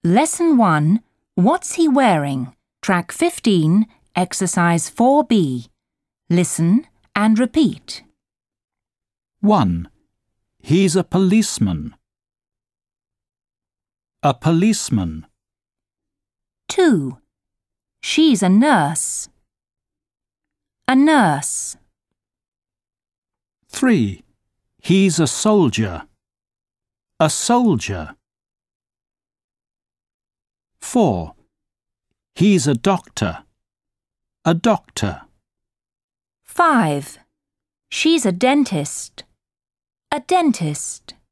Lesson 1. What's he wearing? Track 15, Exercise 4B. Listen and repeat. 1. He's a policeman. A policeman. 2. She's a nurse. A nurse. 3. He's a soldier. A soldier. 4. He's a doctor. A doctor. 5. She's a dentist. A dentist.